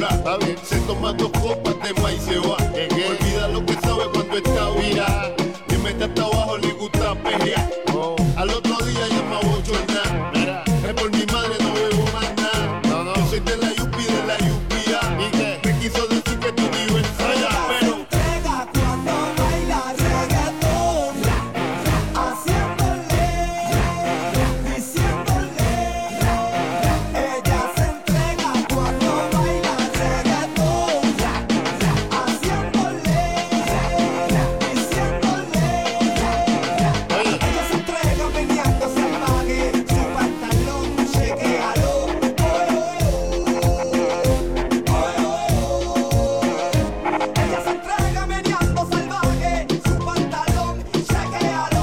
Está bien. Se toma 2 copas de maíz y se va. Olvida lo que sabe cuando está virada. Le mete hasta abajo, le gusta pelear. Al otro día llama a bochornar. Es por mi madre, no bebo más nada. Yo soy de la Yupi, de la Yupia. ¿Y qué? Me quiso decir que tú vives allá, pero entrega cuando baila reggaetón, haciéndole, diciéndole. Ella se entrega cuando baila reggaetón, haciéndole, diciéndole. Ella se entrega meneando salvaje, su pantalón chequéalo. Ella se entrega meneando salvaje, su pantalón chequéalo.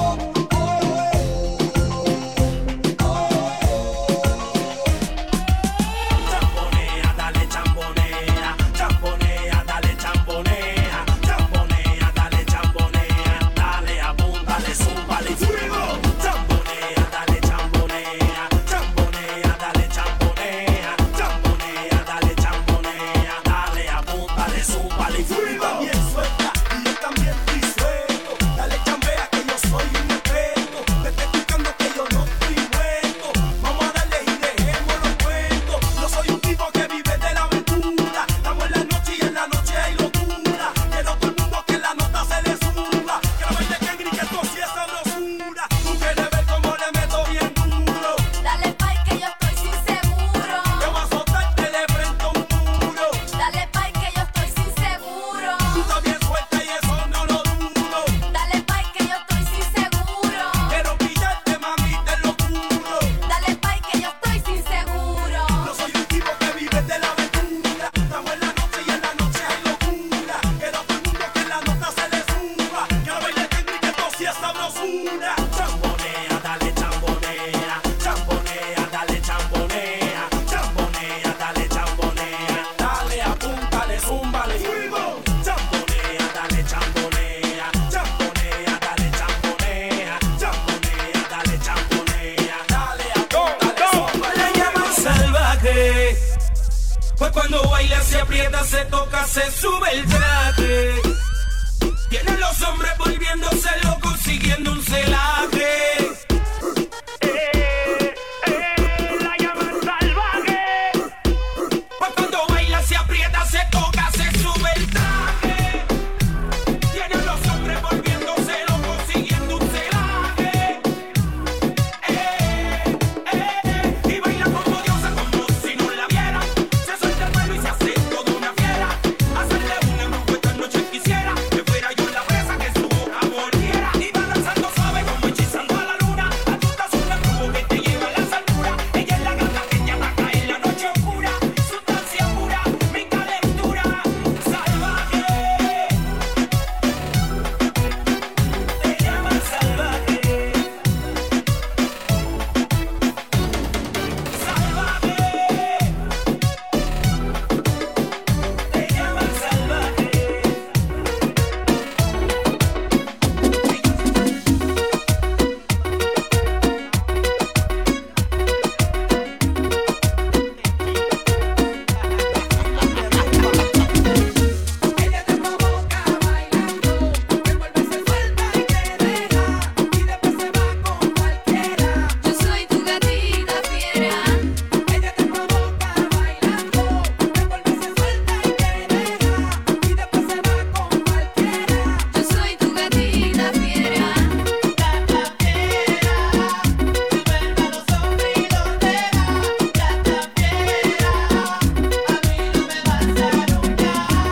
Chambonea, dale chambonea, chambonea, dale chambonea, chambonea, dale chambonea, dale apúntale, zúmbale fuego. Chambonea, dale chambonea, chambonea, dale chambonea, chambonea, dale chambonea, dale apúntale, zúmbale fuego. También suelta y yo también estoy suelto. Dale chambea que yo soy un experto. Te estoy explicando que yo no estoy muerto. Vamos a darle y dejemos los cuentos. Yo soy un tipo que vive de la aventura. Estamos en la noche y en la noche hay locura. Quiero todo el mundo que la nota se le suba. Quiero verte que grite esto si es sabrosura. Tú quieres ver cómo le meto bien duro. Dale pay que yo estoy sin seguro. Te voy a azotarte de frente a un muro. Dale pay que yo estoy sin seguro. Tú estás bien suelta y eso no lo dudo. Dale pay que yo estoy sin seguro. Quiero pillarte, mami, te lo juro. Dale pay que yo estoy sin seguro. Yo soy un tipo que vive de la aventura. Estamos en la noche y en la noche hay locura. Quiero todo el mundo que la nota se le suba. Quiero bailar que grite esto si es sabrosura. Chambonea, dale chambonea. Chambonea, dale chambonea. Chambonea, dale chambonea. Dale, apúntale, zúmbale fuego. Chambonea, dale chambonea. Chambonea, dale chambonea. Chambonea, dale chambonea. Dale, apúntale, zúmbale. La llaman salvaje, pues cuando baila se aprieta, se toca, se sube el traje. Tienen los hombres volviéndose locos, siguiendo un celaje. La llaman salvaje, pues cuando baila se aprieta, se toca, se sube el traje. Tienen los hombres volviéndose locos, siguiendo un celaje. Y baila como diosa, como si no la viera. Se suelta el pelo y se hace toda una fiera. Hacerle un embrujo esta noche quisiera que fuera yo la presa, que su boca volviera. Y va danzando suave como hechizando a la luna. Apuntas un embrujo que te lleva a las alturas. Ella es la gata que te ataca en la noche oscura. Sustancia pura, mi calentura. Salvaje, te llaman salvaje. Salvaje, te llaman salvaje. Ella te provoca bailando, te vuelve se suelta y te deja, y después se va con cualquiera. Yo soy tu gatita fiera. Ella te provoca bailando, te vuelve se suelta y te deja, y después se va con cualquiera. Yo soy tu gatita fiera. Gata fiera, tu vuelve a los hombres y los deja. Gata fiera, a mí no me vas a arrullar. Gata fiera, tu vuelve a los hombres y los deja. Gata fiera, a mí no me vas a arrullar.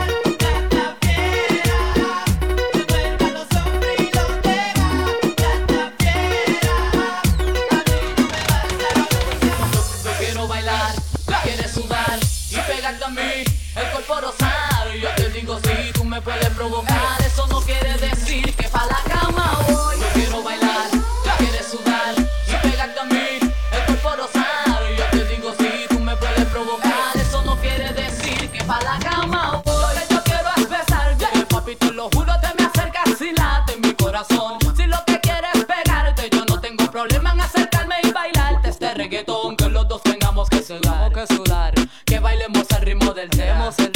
Yo quiero bailar, tú quieres sudar y pegarte a mí, el cuerpo rosado. Y yo te digo si tú me puedes provocar, eso no quiere decir que pa' la cama voy. Yo quiero bailar, tú quieres sudar y pegarte a mí, el cuerpo rosado. Y yo te digo si tú me puedes provocar, eso no quiere decir que pa' la cama voy. Lo que yo quiero es besarte, papi, te lo juro, te me acercas y late mi corazón. Si lo que quieres es pegarte, yo no tengo problema en acercarme y bailarte este reggaetón, que los dos tengamos que sudar, que bailemos al ritmo del tema.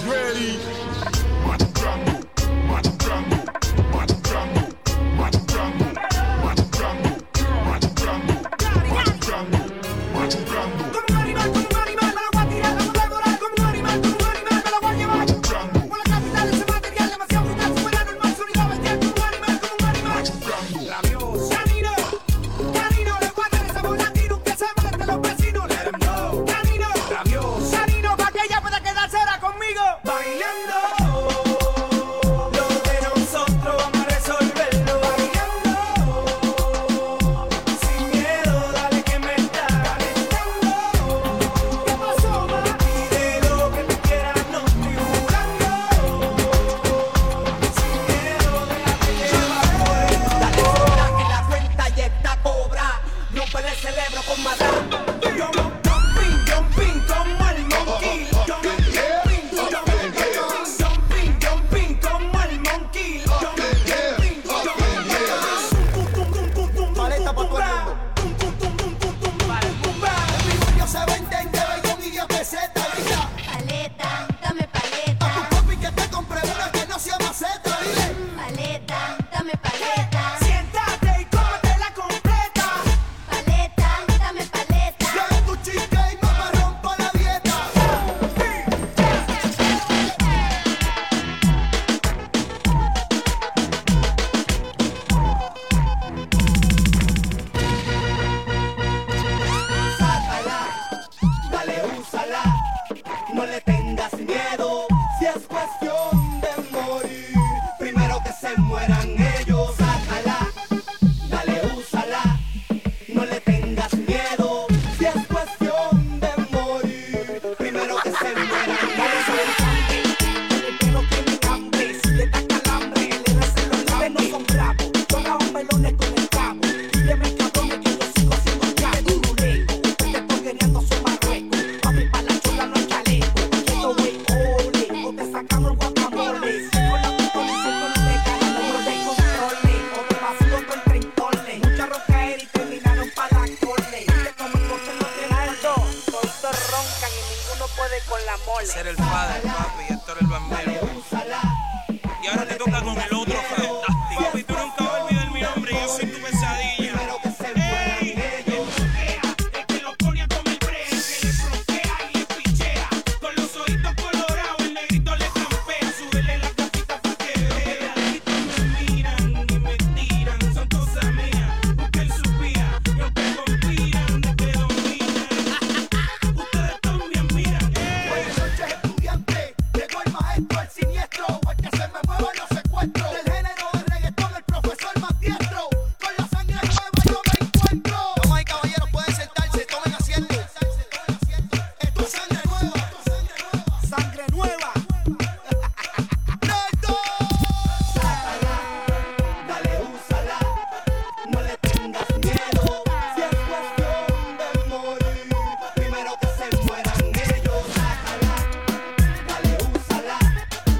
ready. Como un animal, me lo voy a tirar, me lo voy a devorar. Como un animal, me lo voy a llevar. Con la capital, ese material demasiado brutal, fuera normal, sonido bestial. Como un animal. Rabioso. Canino, le voy a dar ese volatino que se moleste los vecinos. Let 'em know. Canino, rabioso. Canino, pa' que ella pueda quedarse ahora conmigo. Bailando. Lo de nosotros vamos a resolverlo. Bailando. Sin miedo, dale que me está calentando. ¿Qué pasó, ma? Pide lo que tú quieras, no estoy jugando. Sin miedo, déjate llevar. Dale sola que la cuenta ya está cobra. Rompe el cerebro con maldad. Jumping como el monkey. Jumping como el monkey. Paleta pa' todo el mundo. El primario se vende en Bellón y 10 pesetas. Grita Paleta, dame a tu paleta. papi que te compre una que no sea maceta. Dile. Paleta, dame paleta. Siéntate y cómetela completa. Paleta, dame paleta. Trae tu chica y mamá rompa la dieta. Sácala, dale, úsala. No le tengas miedo. Si es cuestión de morir, primero que se mueran ellos. Sácala, dale, úsala. No le tengas miedo. Si es cuestión de morir, primero que se mueran ellos. El pelo tiene hambre, si le da calambre, le recen los labios. No son bravos, son a melones con el cabo. Dile cabrones que yo sigo siendo cago. Dureco, ustedes porquereando son marruecos. Papi pa' la chola no hay chaleco. Quieto wey, ole, o te sacamos el guacamole. Con la pistola y siento no te cagan, no te controle. O te vacío con 30 mucha rocaera y terminaron pa' la cole. Dile como el coche no te muerdo. Todos roncan y ninguno puede con la mole. Ser el padre, papi, y Héctor el bambino. Y ahora te toca con el otro fantástico. Papi, tú nunca vas a olvidar mi nombre, yo soy tu pesadilla. Ey, el que lo pone a comer break, que le frontea y le pichea. Con los ojitos colorados, el negrito le campea. Súbele la capita pa' que vea. Me miran y me tiran, son cosas mías. Busquen su vía, y aunque conspiran, de que dominan. Ustedes también miran. Buenas noches, estudiante. Llegó el maestro, el siniestro. El que se me mueva los secuestros. Del género de reggaetón, el profesor más diestro. Con la sangre nueva yo me encuentro. Vamos ahí, caballeros, pueden sentarse, tomen asiento. Esto es sangre nueva. Sangre nueva. ¡Nerdo! Sácala, dale, úsala. No le tengas miedo. Si es cuestión de morir, primero que se mueran ellos. Sácala, dale, úsala.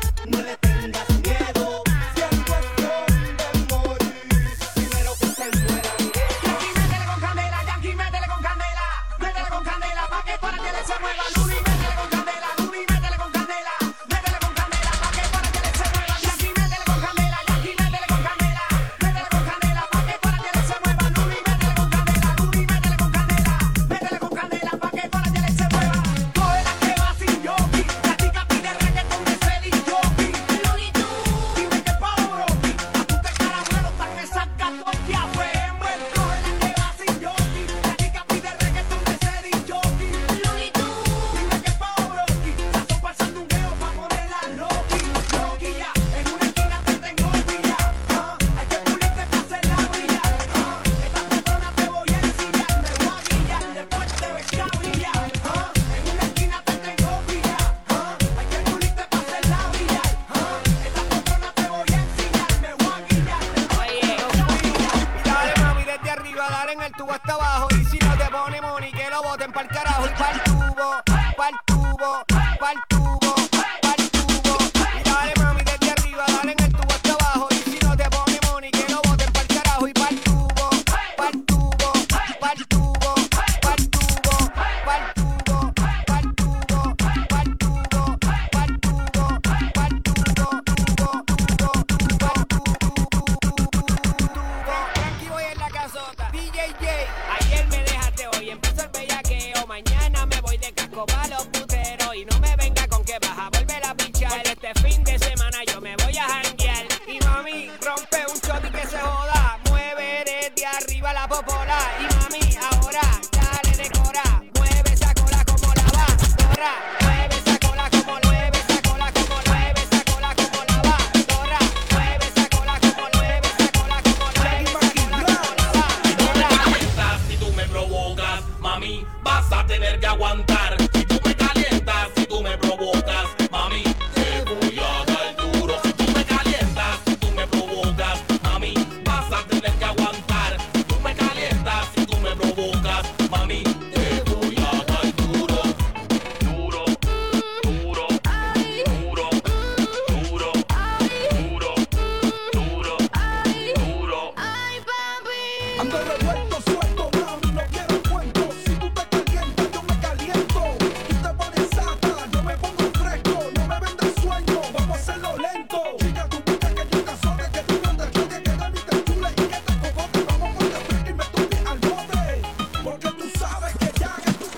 la popola. Y mami, ahora dale decora. Mueve esa cola como lavadora. Mueve esa cola como mueve esa cola como mueve esa cola como lavadora. Mueve esa cola como mueve esa cola como mueve esa cola como lavadora. Si tú me provocas, mami, vas a tener que aguantar. Si tú me calientas, si tú me provocas, mami, te voy a dar duro. Si tú me calientas, si tú me provocas, mami, vas a tener que aguantar. Si tú me calientas, si tú me provocas, mami, te voy a dar duro. Duro, duro, duro, duro, duro, duro, duro. Ay, papi. Ando revuelto, suelto, mami, no quiero cuentos. Si tú te calientas, yo me caliento. Tú te pones sata, yo me pongo fresco. No me vendas sueño, vamos a hacerlo lento. Chica, tú buscas que yo te azote, que tú no te choques, que de mí te chule y que te cogote. Vamos con el freak y me tuve al bote. Porque tú sabes que ya que tú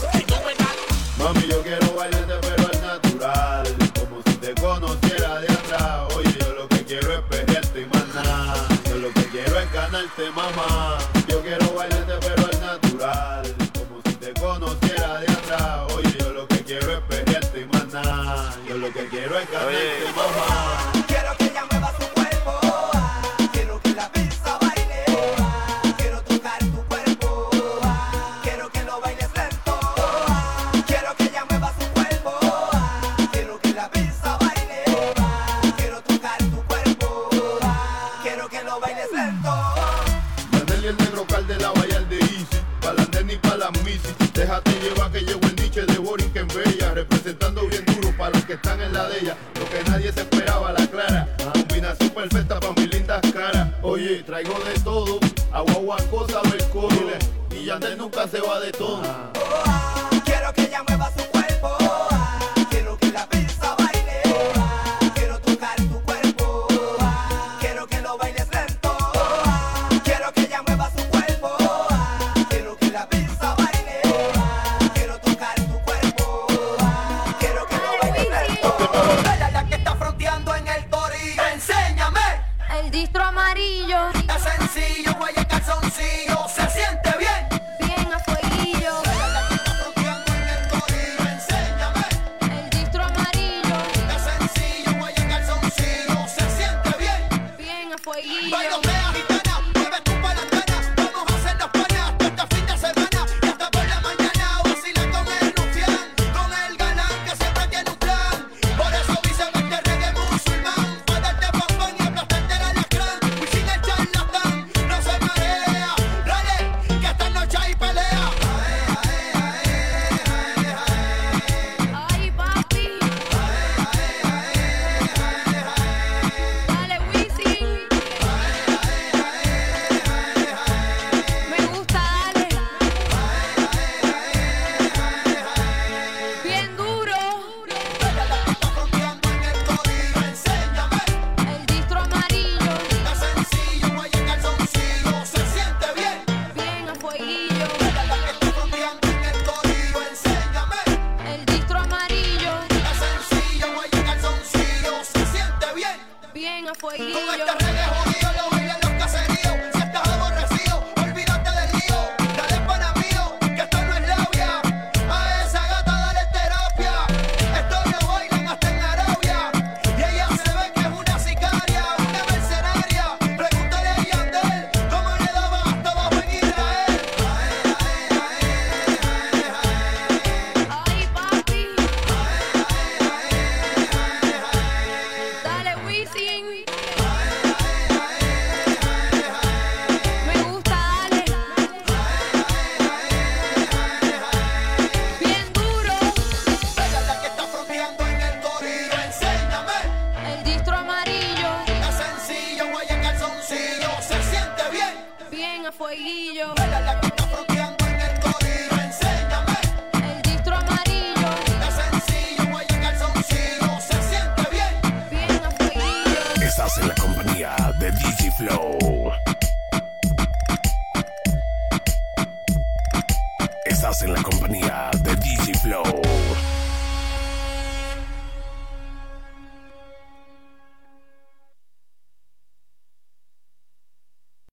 te Mami, yo quiero bailarte pero al natural, como si te conociera de atrás. Oye, yo lo que quiero es pelearte y más nada. Yo lo que quiero es ganarte, mamá. Yo quiero bailarte pero al natural, como si te conociera de atrás. Oye, yo lo que quiero es pelearte y más nada. Yo lo que quiero es ganarte, mamá. Quiero que ella mueva su cuerpo. Quiero que la pizza baile. Quiero tocar tu cuerpo. Quiero que lo bailes lento. Quiero que ella mueva su cuerpo. Quiero que la pizza baile. Quiero tocar tu cuerpo. Quiero que lo bailes lento. Manel y el negro cal de la Bahía de Easy, pa' la nena y pa' la misi. Déjate llevar que llegó el niche de Borinquen en Bella, representando bien duro para los que están en la de ella. Lo que nadie se esperaba, la clara. Combinación perfecta pa' mis lindas caras. Oye, traigo de todo, agua, cosa, mercurio. Y Yandel nunca se va de todo. Quiero que ella mueva su cuerpo. Quiero que la pizza baile. Quiero tocar tu cuerpo. Quiero que lo bailes lento. Quiero que ella mueva su cuerpo. Quiero que la pizza baile. Quiero tocar tu cuerpo. Quiero que lo bailes lento. Ella es la que está fronteando en el torillo. Enséñame. El distro amarillo, Es sencillo, güey, el calzoncillo. Se siente bien. bien a fueguillo. Ella es la que está fronteando en el torillo. Enséñame. El distro amarillo, Es sencillo, güey, el calzoncillo. Se siente bien. bien a fueguillo. Bailonea, gitana, mueve tu palangana. Vamos a hacer los panas este fin de semana. Y hasta por la mañana vacila con el rufián, con el galán que siempre tiene un plan. Por eso dice este reggae musulmán, pa' darte pan y aplastarte el alacrán. Y sin el charlatán, no se marea. Dale, que esta noche hay pelea. Ay, papi. Dale, Wisin. Me gusta, dale. Bien duro. Está fronteando en el torillo. Enséñame. El distro amarillo, Es sencillo, güey, el calzoncillo. Se siente bien. bien a fueguillo. Ella es la que está fronteando en el torillo. Enséñame. El distro amarillo, Es sencillo, güey, el calzoncillo. Se siente bien. bien a Con fueguillo. este reggae jodido lo bailan los caseríos. Si estás aborrecido, olvídate del lío. Dale pana mío, que esto no es labia. A esa gata dale terapia. Esto lo bailan hasta en Arabia. Y ella se ve que es una sicaria, una mercenaria. Pregúntale a Yandel cómo le daba hasta abajo en Israel. Ay, papi. Dale, Wisin. Me gusta, dale. Bien duro. Ella es la que está fronteando en el torillo. Enséñame. El distro amarillo, Es sencillo, güey, el calzoncillo. Se siente bien. bien a fueguillo. Ella es la que está fronteando en el torillo. Enséñame. El distro amarillo, Es sencillo, güey, el calzoncillo. Se siente bien. bien a fueguillo. Estás en la compañía de DJ Flow. Estás en la compañía de DJ Flow.